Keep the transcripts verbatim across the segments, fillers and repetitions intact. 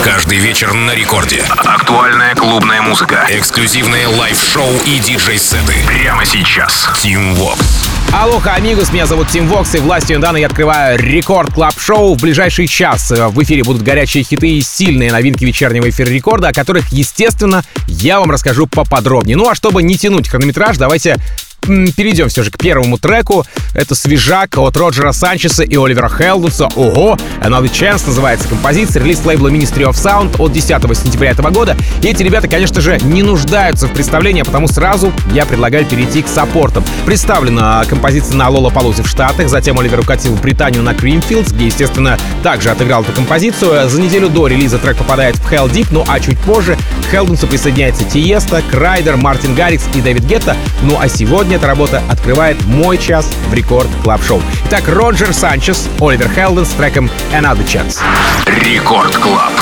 Каждый вечер на рекорде. Актуальная клубная музыка, эксклюзивные лайв-шоу и диджей-сеты. Прямо сейчас. Team Vox. Алоха, амигос, меня зовут Тим Вокс, и властью Дана я открываю Рекорд Клаб Шоу. В ближайший час в эфире будут горячие хиты и сильные новинки вечернего эфира Рекорда, о которых, естественно, я вам расскажу поподробнее. Ну а чтобы не тянуть хронометраж, давайте перейдем все же к первому треку. Это свежак от Роджера Санчеса и Оливера Хелденса. Ого! Another Chance называется композиция. Релиз лейбла Ministry of Sound от десятого сентября этого года. И эти ребята, конечно же, не нуждаются в представлении, потому сразу я предлагаю перейти к саппортам. Представлена композиция на Лолапалузе в Штатах. Затем Оливер укатил в Британию на Creamfields, где, естественно, также отыграл эту композицию. За неделю до релиза трек попадает в Hell Deep, ну а чуть позже к Хелденсу присоединяется Тиеста, Крайдер, Мартин Гаррикс и Дэвид Гетта. Ну а сегодня эта работа открывает мой час в Рекорд Клаб Шоу. Итак, Роджер Санчес, Оливер Хелденс с треком Another Chance. Рекорд Клаб.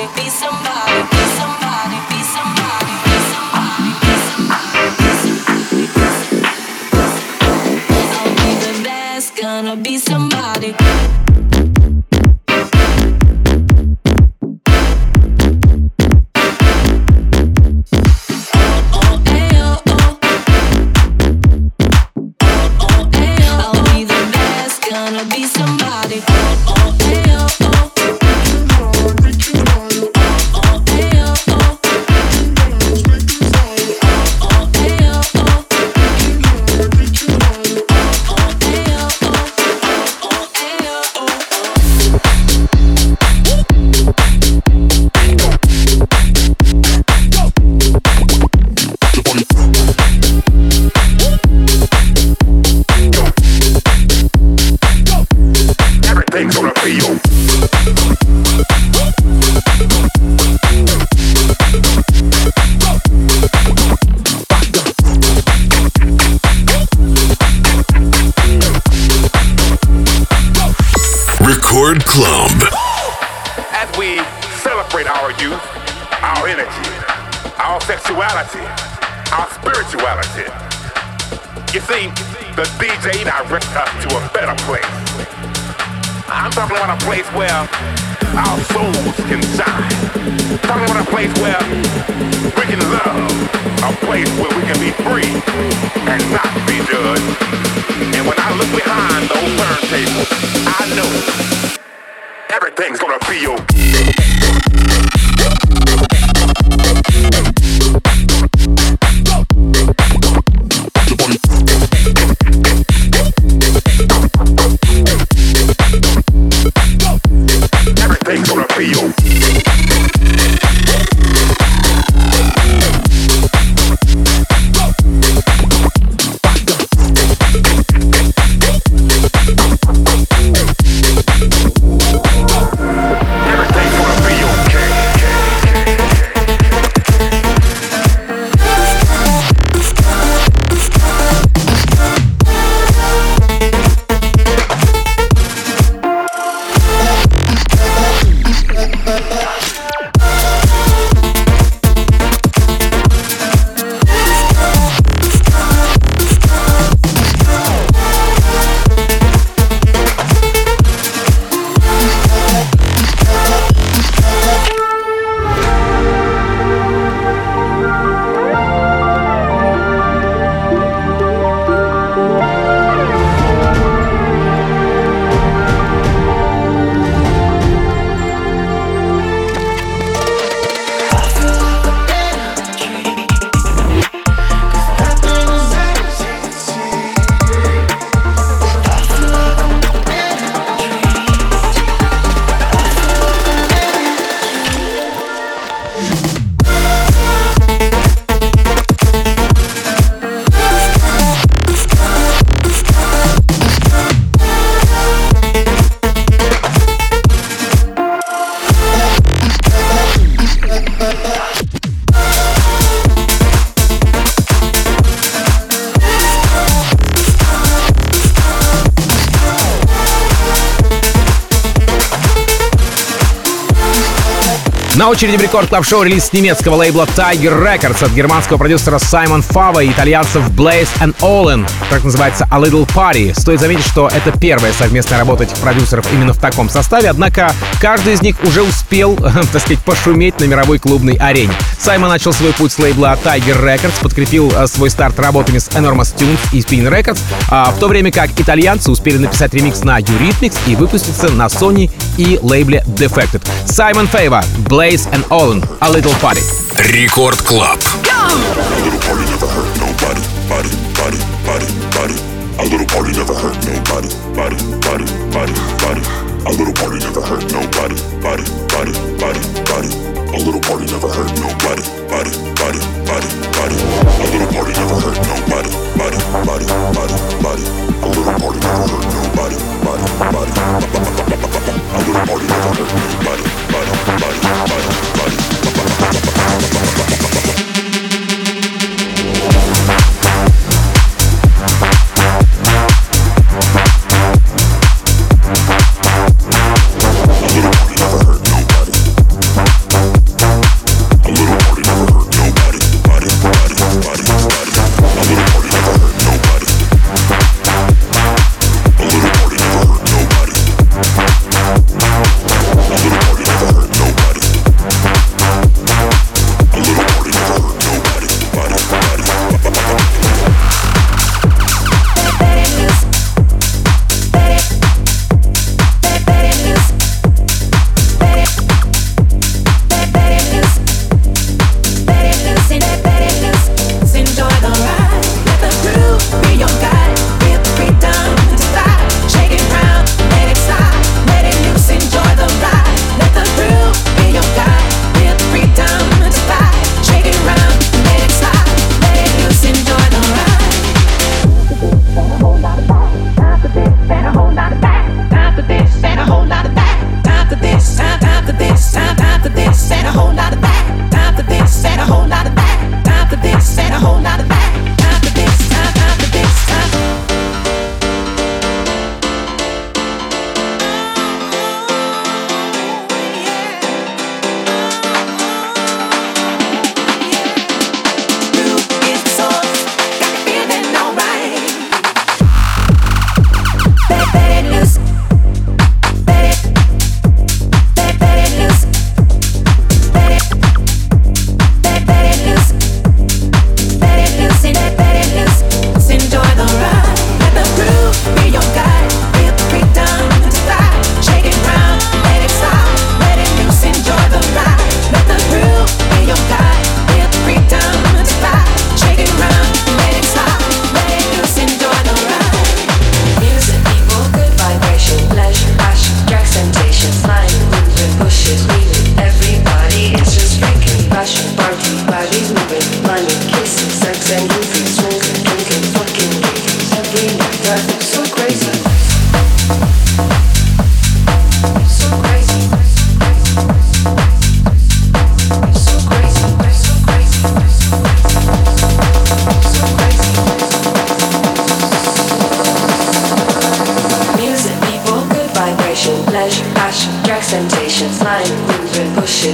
Record Club. As we celebrate our youth, our energy, our sexuality, our spirituality, you see, the D J directs us to a better place. I'm talking about a place where our souls can shine. I'm talking about a place where we can love, a place where we can be free and not be judged. And when I look behind those turntables, I know everything's gonna be okay. Everything's gonna be okay. На очереди в Рекорд Клаб Шоу релиз немецкого лейбла Tiger Records от германского продюсера Саймон Фава и итальянцев Blaze and Olin. Так называется A Little Party. Стоит заметить, что это первая совместная работа этих продюсеров именно в таком составе, однако каждый из них уже успел, так сказать, пошуметь на мировой клубной арене. Саймон начал свой путь с лейбла Tiger Records, подкрепил свой старт работами с Enormous Tunes и Spin Records, а в то время как итальянцы успели написать ремикс на Eurythmics и выпуститься на Sony и лейбле Defected. Саймон Фейва, Blaze and Olin, A Little Party. Рекорд Клаб. A little party never hurt nobody, body, body, body, body. A little party never hurt nobody, body, body, body, body. A little party never hurt nobody, body, body, body, body. A little party never hurt nobody, body, body, body, body. A little party never hurt nobody, body, body, body, body. A little party never hurt nobody, body, body, body. A little party never hurt nobody, body, body, body, body. A little party never hurt nobody.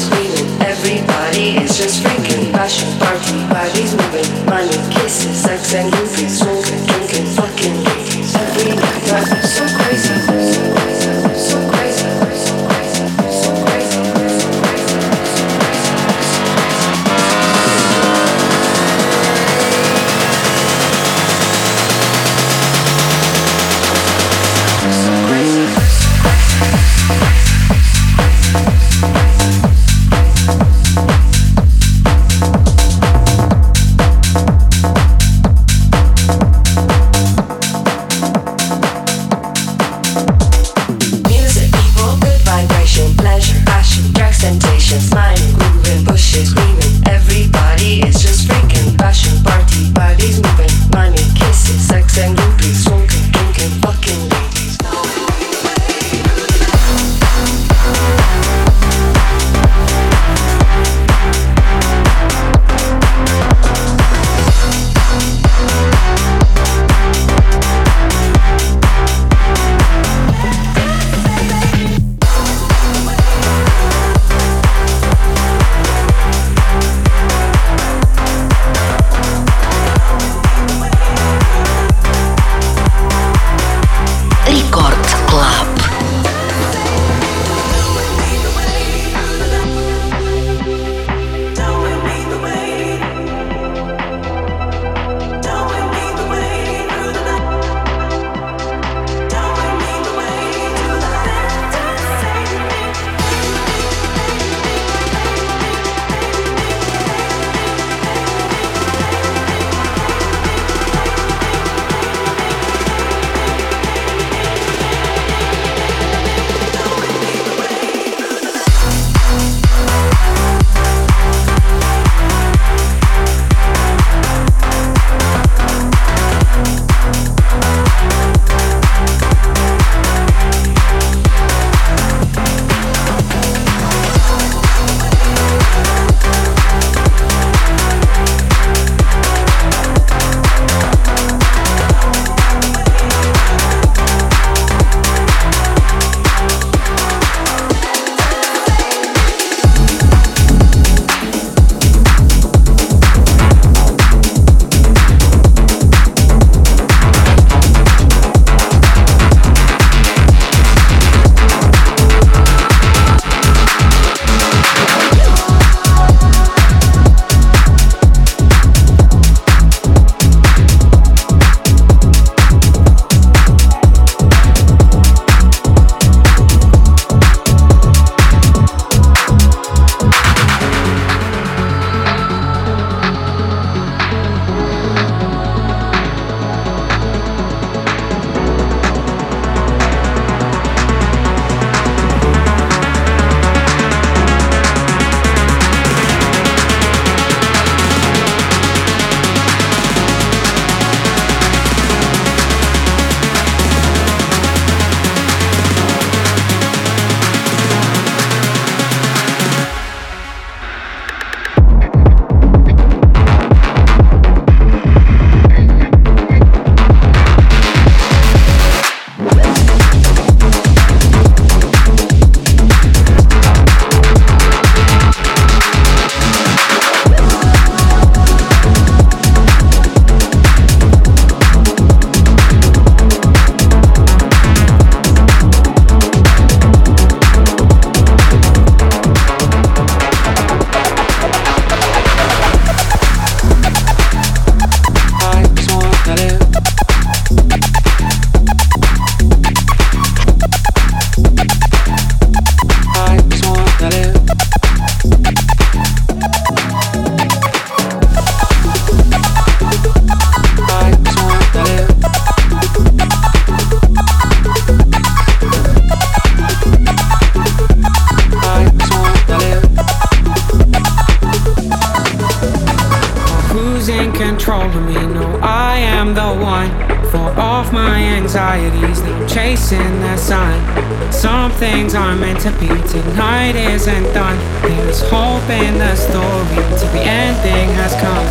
anxieties, now chasing that sign. Some things aren't meant to be, tonight isn't done. There's hope in the story, till the ending has come.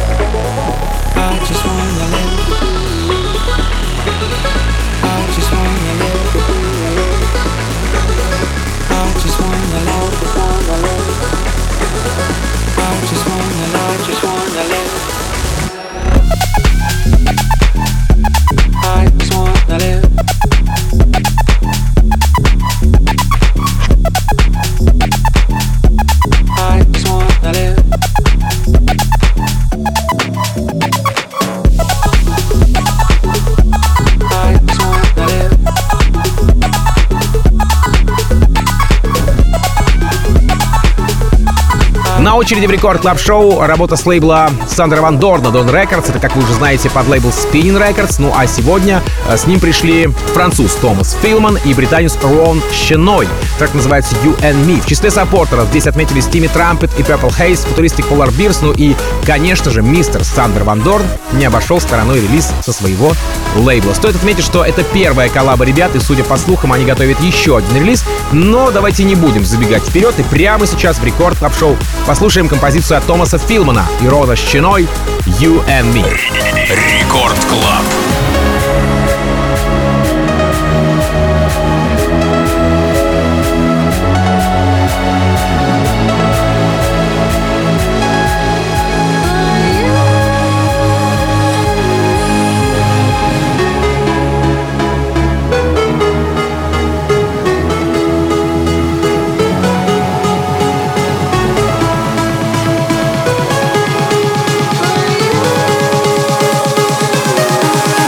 I just wanna live. I just wanna live. I just wanna live. На очереди в Рекорд Клаб Шоу работа с лейбла Сандра Ван Дорна Dawn Records. Это, как вы уже знаете, под лейбл Spinning Records. Ну а сегодня с ним пришли француз Томас Филман и британец Рон Щеной. Трек называется You and Me. В числе саппортеров здесь отметились Тимми Трампет и Purple Haze, Futuristic Polar Bears. Ну и, конечно же, мистер Сандер Ван Дорн не обошел стороной релиз со своего лейбла. Стоит отметить, что это первая коллаба ребят, и, судя по слухам, они готовят еще один релиз. Но давайте не будем забегать вперед, и прямо сейчас в Рекорд Клаб Шоу послушаем композицию от Томаса Филмана и Рона Щеной «You and Me». Рекорд Клаб. You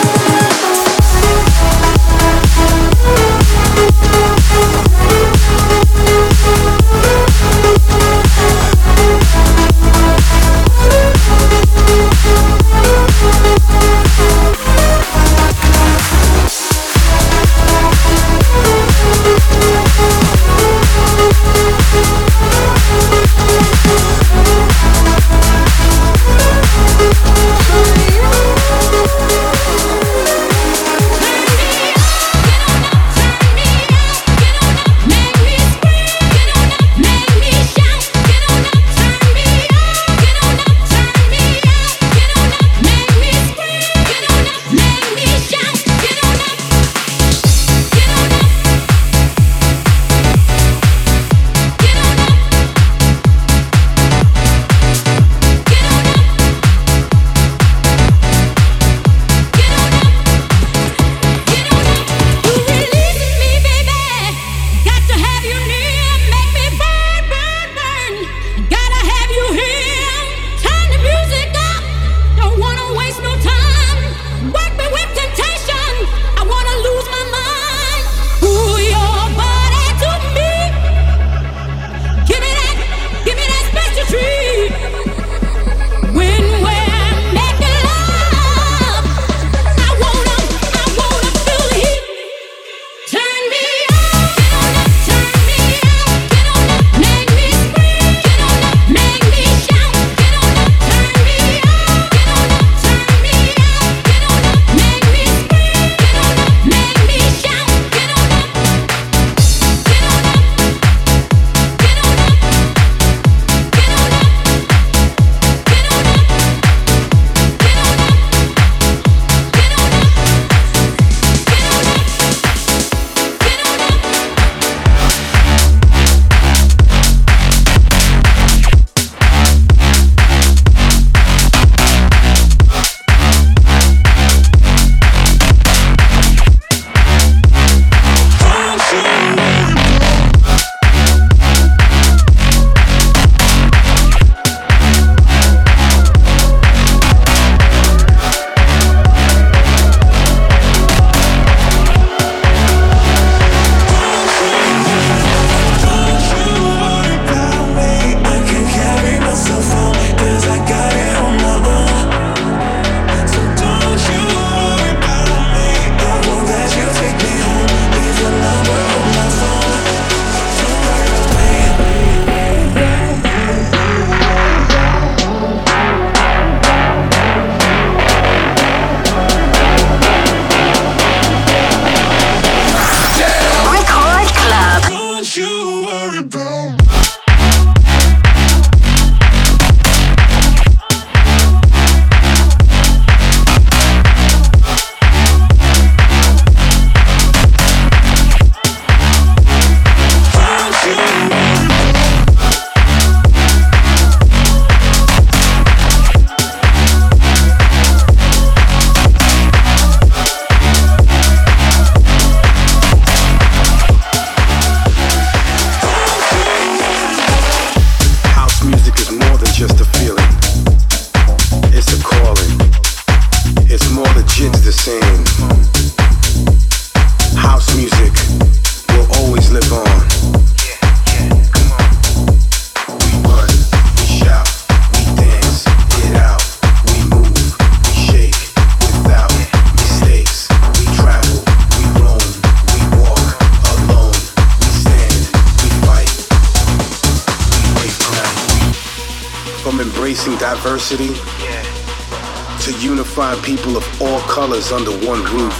From embracing diversity to unifying people of all colors under one roof.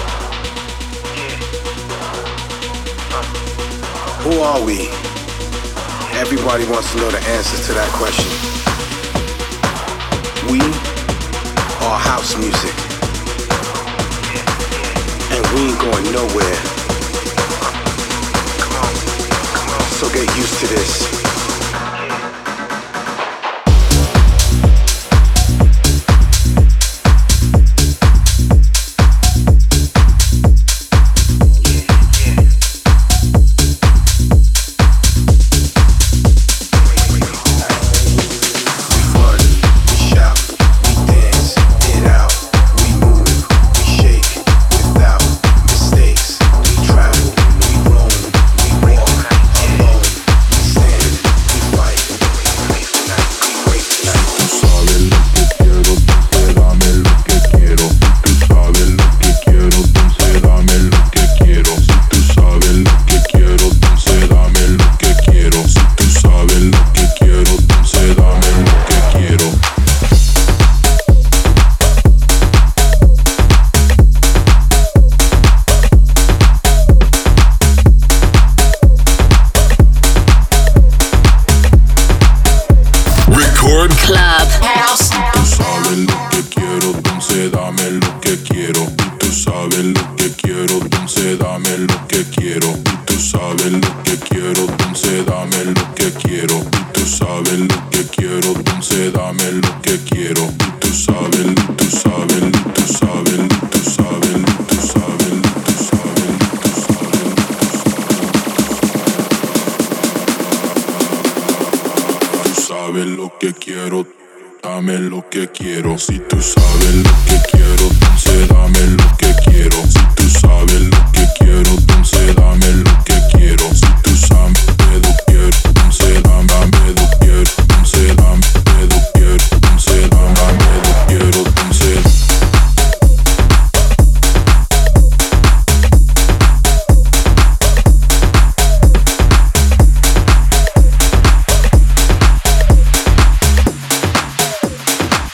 Who are we? Everybody wants to know the answers to that question. We are house music. And we ain't going nowhere. So get used to this.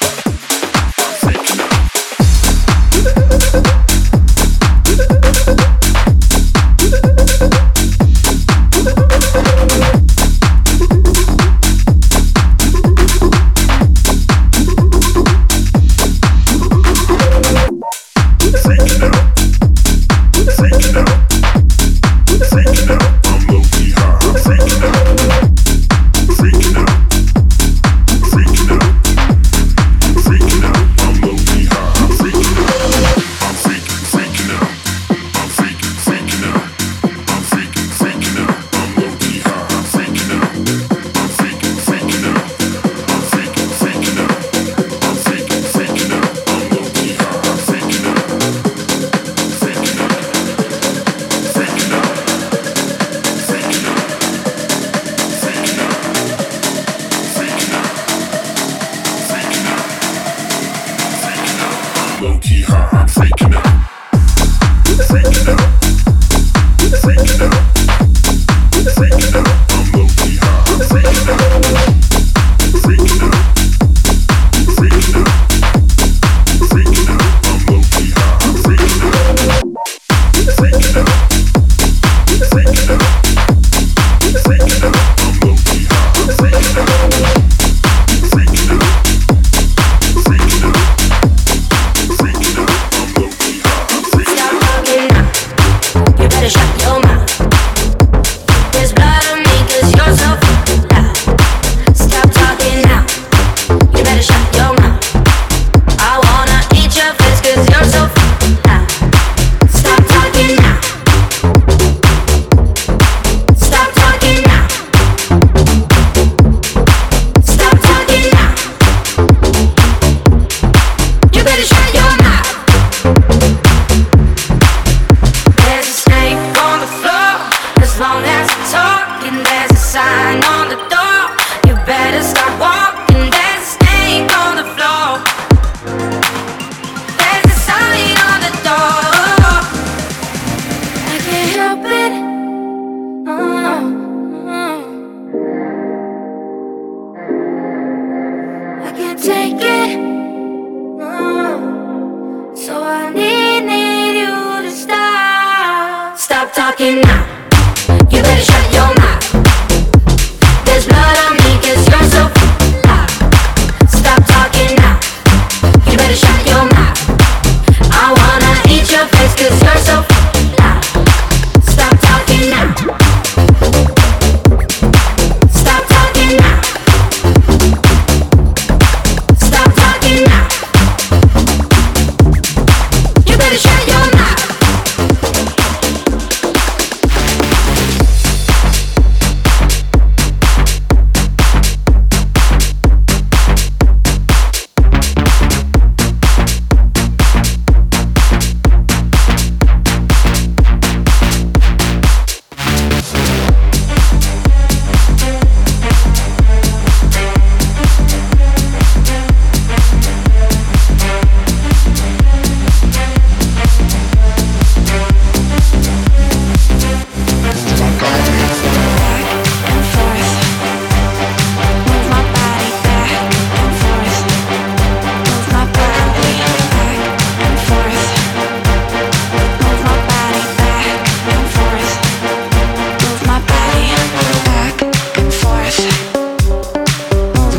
We'll be right back.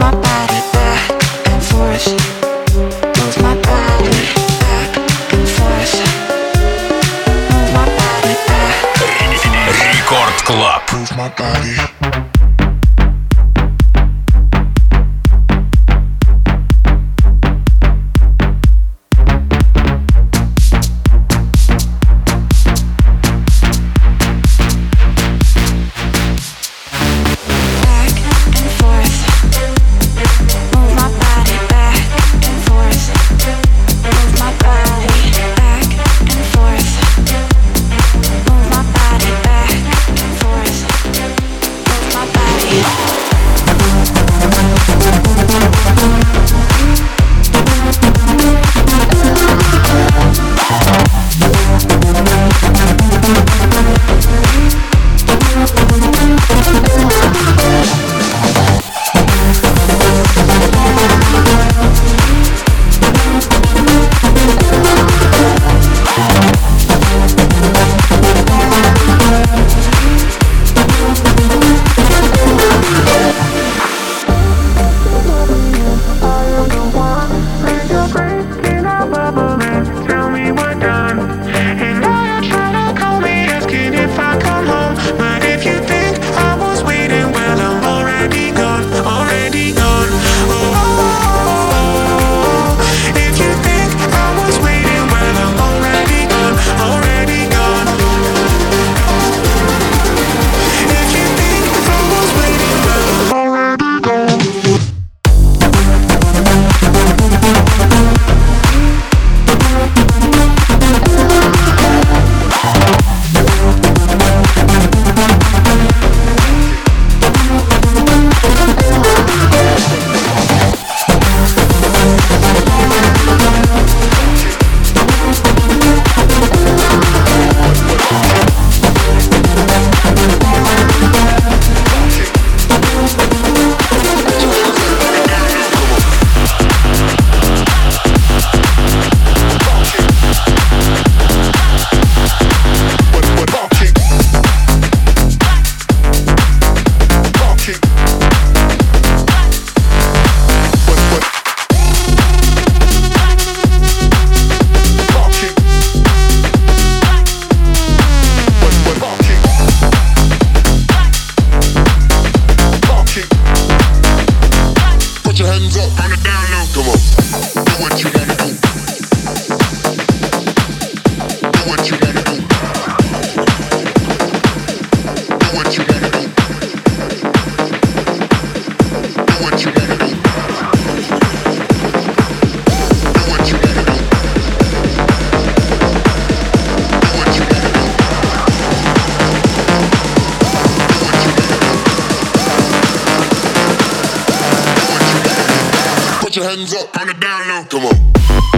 your hands up on the down low. Come on.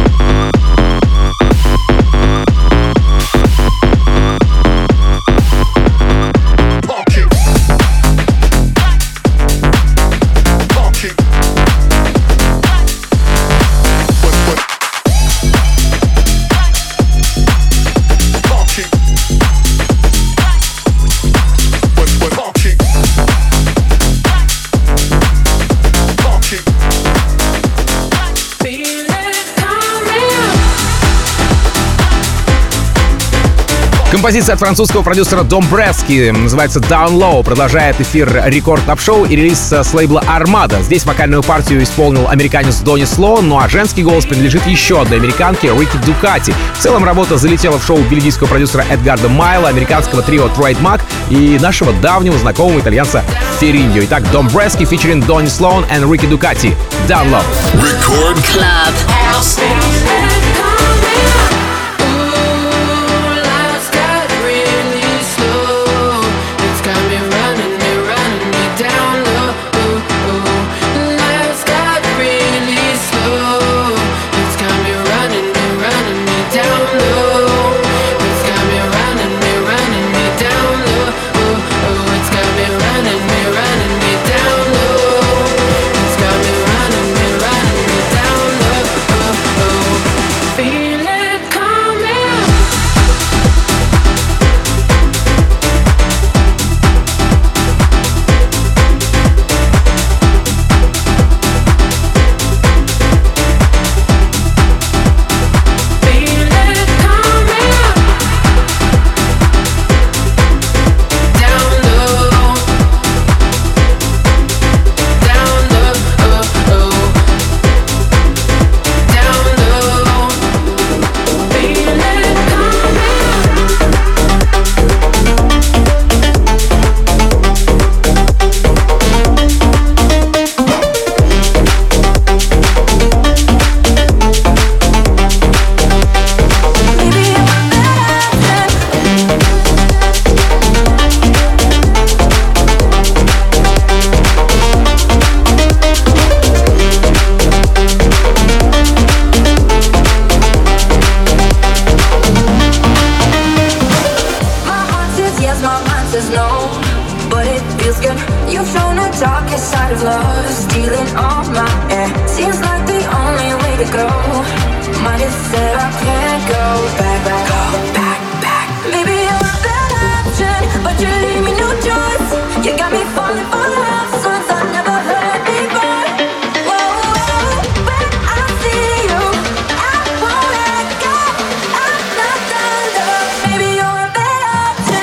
Композиция от французского продюсера Домбрески называется Down Low, продолжает эфир Рекорд Клаб Шоу и релиз с лейбла Armada. Здесь вокальную партию исполнил американец Донни Слоун, ну а женский голос принадлежит еще одной американке Рики Дукати. В целом работа залетела в шоу бельгийского продюсера Эдгарда Майла, американского трио Trademark и нашего давнего знакомого итальянца Фериньо. Итак, Домбрески featuring Донни Слоун и Рики Дукати. Down Low. Record Club. Oh on my end. Seems like the only way to go. Might have said I can't go back, back, go back, back. Maybe you're a better option, but you leave me no choice. You got me falling for love songs I never heard before. Whoa, whoa, when I see you, I won't let go. I'm not done, love. Maybe you're a better option.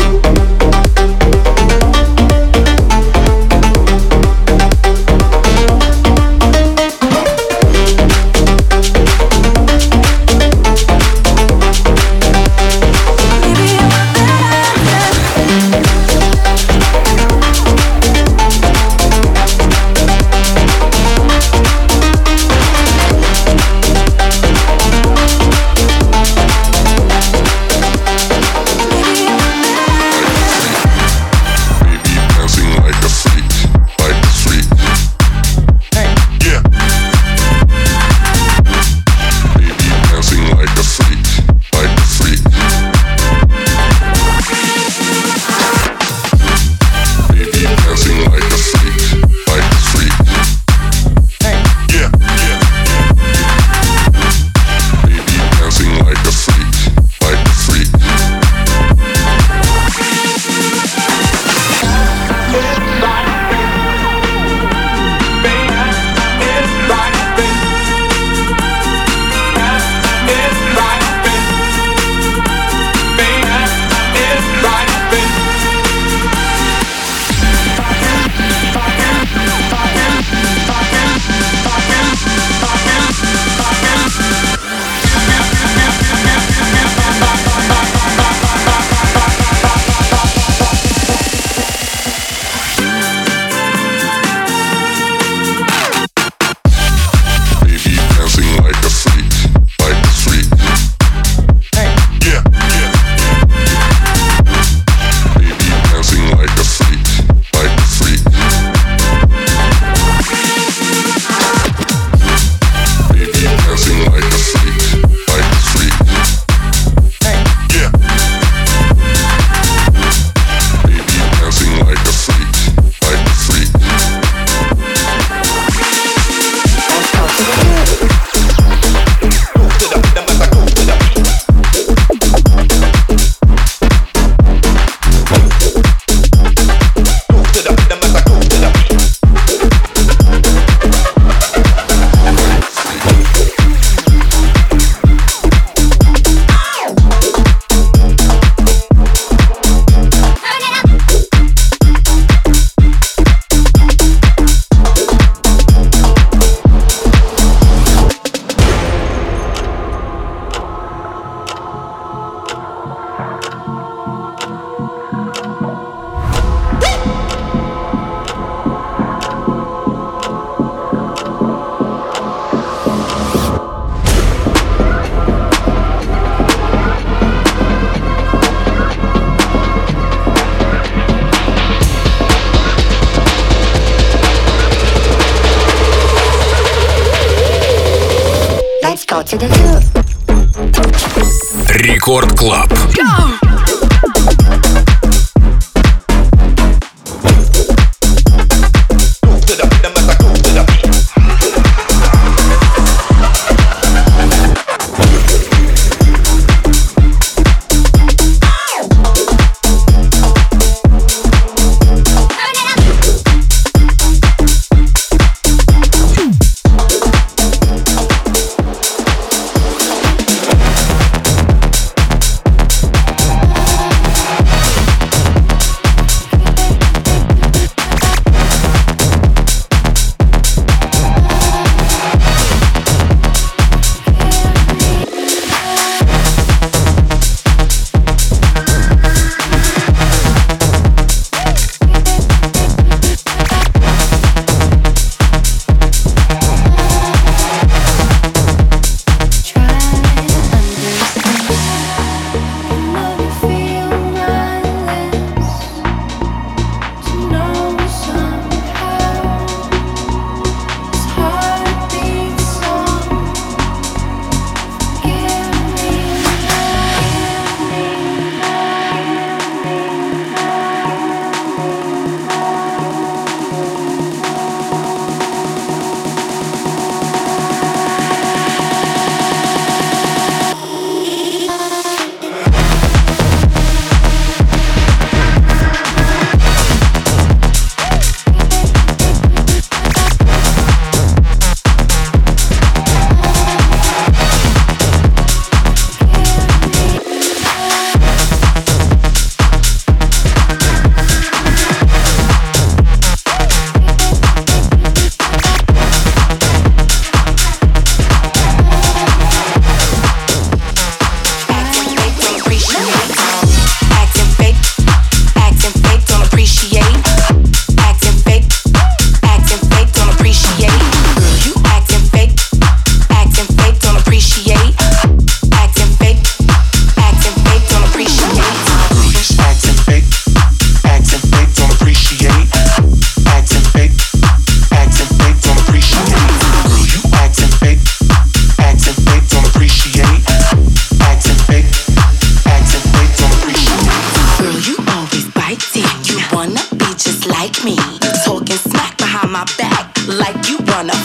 Рекорд Клаб.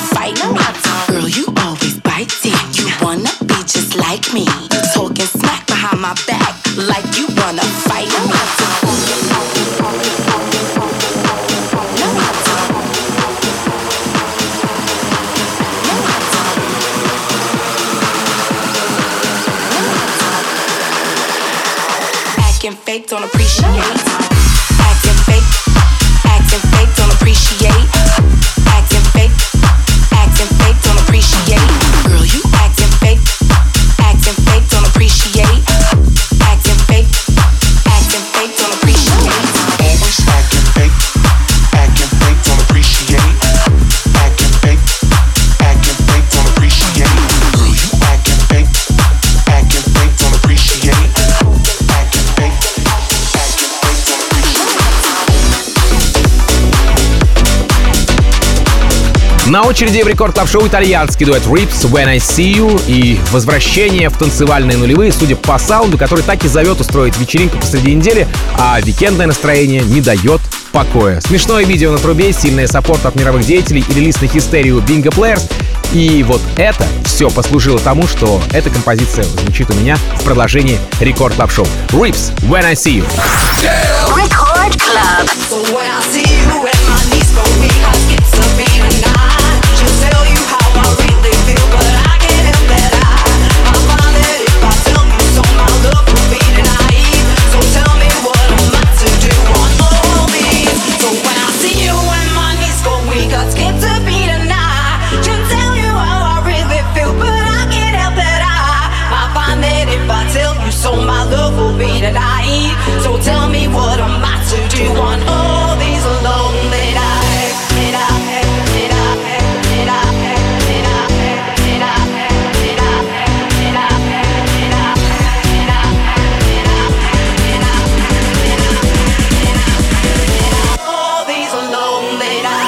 fight me. Girl, you always biting. You wanna be just like me. Talking smack behind my back like you wanna fight me. Acting fake, don't appreciate. Acting fake, acting fake, don't appreciate. Acting fake, acting fake, don't appreciate. Girl, you acting fake, acting fake, don't appreciate. Acting fake, acting fake, don't appreciate. Always acting fake, acting fake, don't appreciate. Acting fake, acting fake, don't appreciate. Girl, you acting fake, acting fake, don't appreciate. Acting fake, acting fake, don't appreciate. На очереди в Рекорд Клаб Шоу итальянский дуэт Rips When I See You и возвращение в танцевальные нулевые, судя по саунду, который так и зовет устроить вечеринку посреди недели, а викендное настроение не дает покоя. Смешное видео на трубе, сильный саппорт от мировых деятелей и релиз на хистерию Bingo Players. И вот это все послужило тому, что эта композиция звучит у меня в продолжении Рекорд Клаб Шоу. Rips When I See You. Record Club. So when I see you at my knees go weak, I skip to be tonight. Just tell you how I really feel, but I can't help that I I find that if I tell you so, my love will be denied. So tell me what am I to do on all these? So when I see you at my knees go weak, I skip to be tonight. Just tell you how I really feel, but I can't help that I I find that if I tell you so, my love will be denied. So tell me what am I to do on all these lonely nights? And I, and I, and I, and I, and I, and I, and I, and I, and I, and I, all these lonely nights.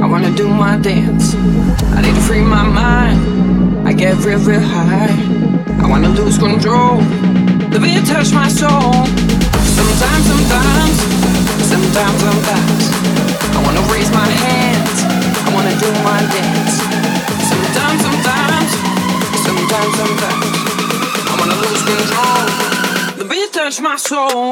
dance. I need to free my mind. I get real, real high. I wanna lose control. The beat touch my soul. Sometimes, sometimes, sometimes, sometimes I wanna raise my hands, I wanna do my dance. Sometimes, sometimes, sometimes, sometimes I wanna lose control. The beat touch my soul.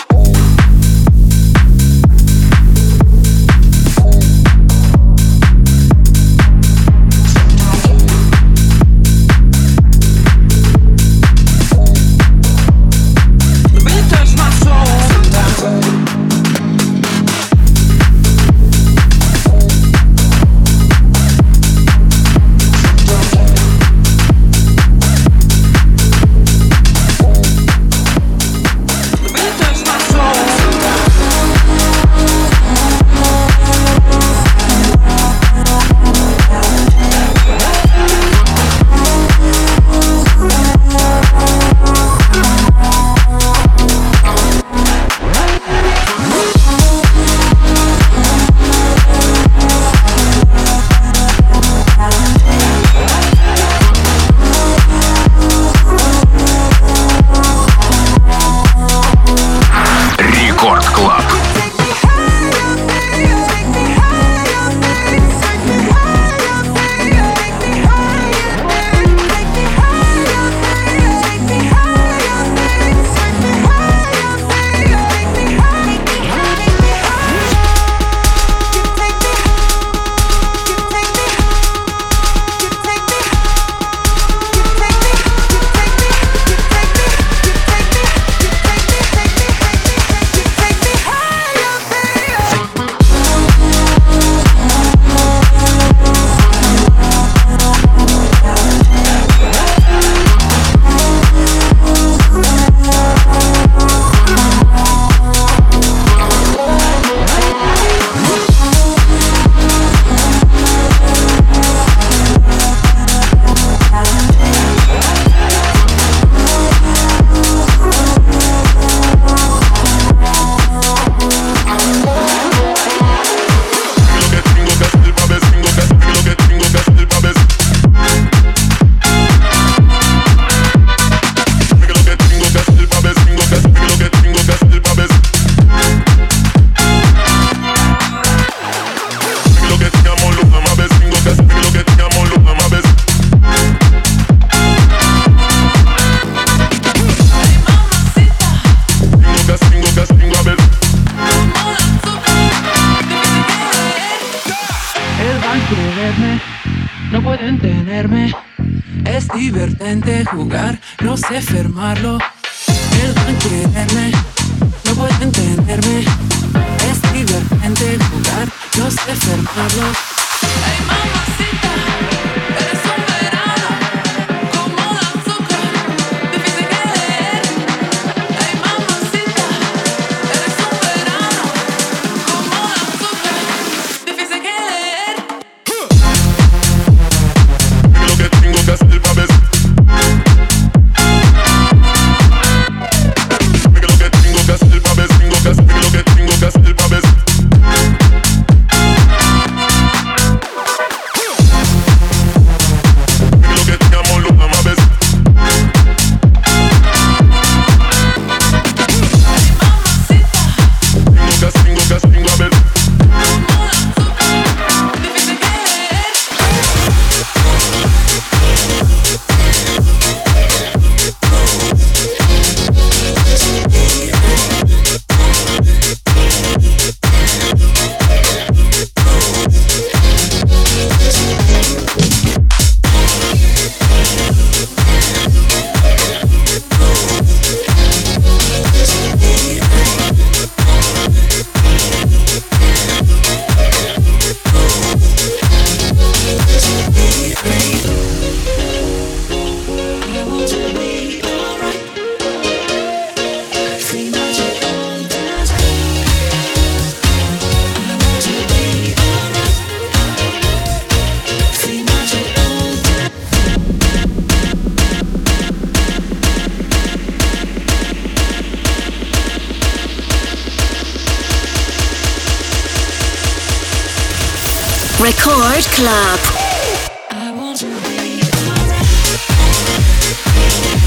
Jugar, no sé fermarlo. Él va a quererme, no puede entenderme. Es divertente jugar, no sé fermarlo. Ay, mamacita, eres un verano, como el azúcar, difícil que leer. Ay, mamacita, eres un verano, como el azúcar, difícil que leer. Lo que tengo que hacer para ver. Record Club. I want to be alright.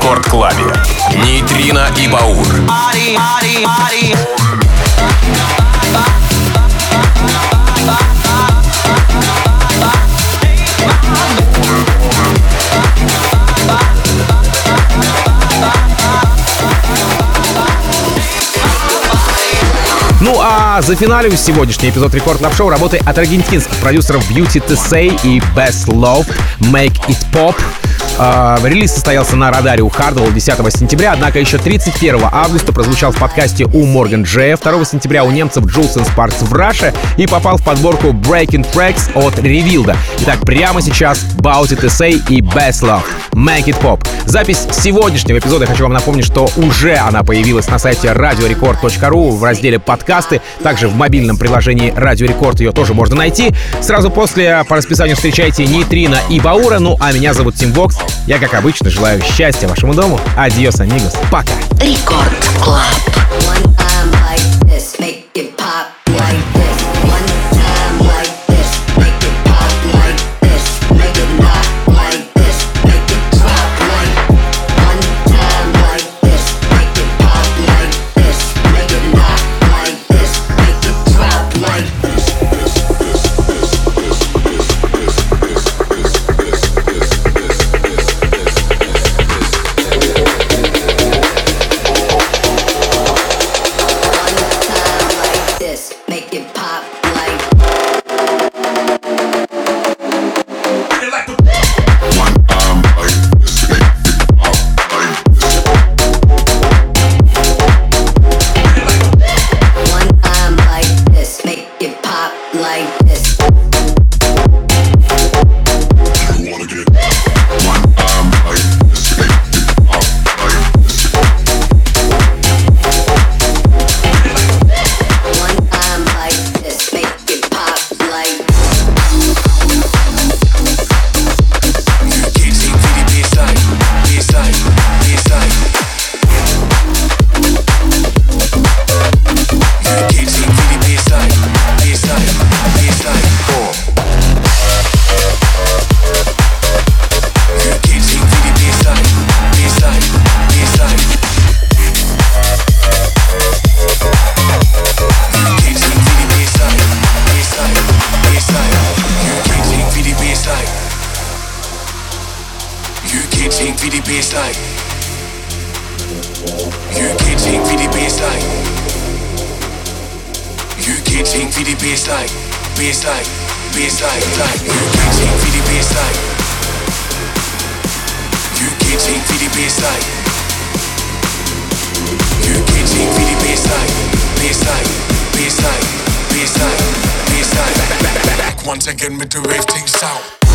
Рекорд Клабе. Нейтрино и Баур. Ну а за финалю сегодняшний эпизод Рекорд Клаб Шоу работы от аргентинских продюсеров Beauty to Say и Best Love Make It Pop. Uh, релиз состоялся на радаре у Hardwell десятого сентября, однако еще тридцать первого августа прозвучал в подкасте у Morgan J, второго сентября у немцев Jules and Sparks в Russia и попал в подборку Breaking Tracks от Revealed. Итак, прямо сейчас Beauty to Say и Best Love Make It Pop. Запись сегодняшнего эпизода, я хочу вам напомнить, что уже она появилась на сайте радио рекорд точка ру в разделе «Подкасты», также в мобильном приложении Радио Рекорд ее тоже можно найти. Сразу после по расписанию встречайте Нейтрино и Баура, ну а меня зовут Тим Вокс. Я, как обычно, желаю счастья вашему дому. Адьос, амигос. Пока. Рекорд Клаб. Once again with the rave things out.